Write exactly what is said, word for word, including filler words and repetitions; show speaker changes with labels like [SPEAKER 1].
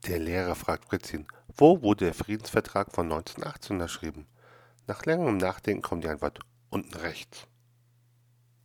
[SPEAKER 1] Der Lehrer fragt Fritzchen, wo wurde der Friedensvertrag von neunzehnhundertachtzehn unterschrieben? Nach längerem Nachdenken kommt die Antwort, unten rechts.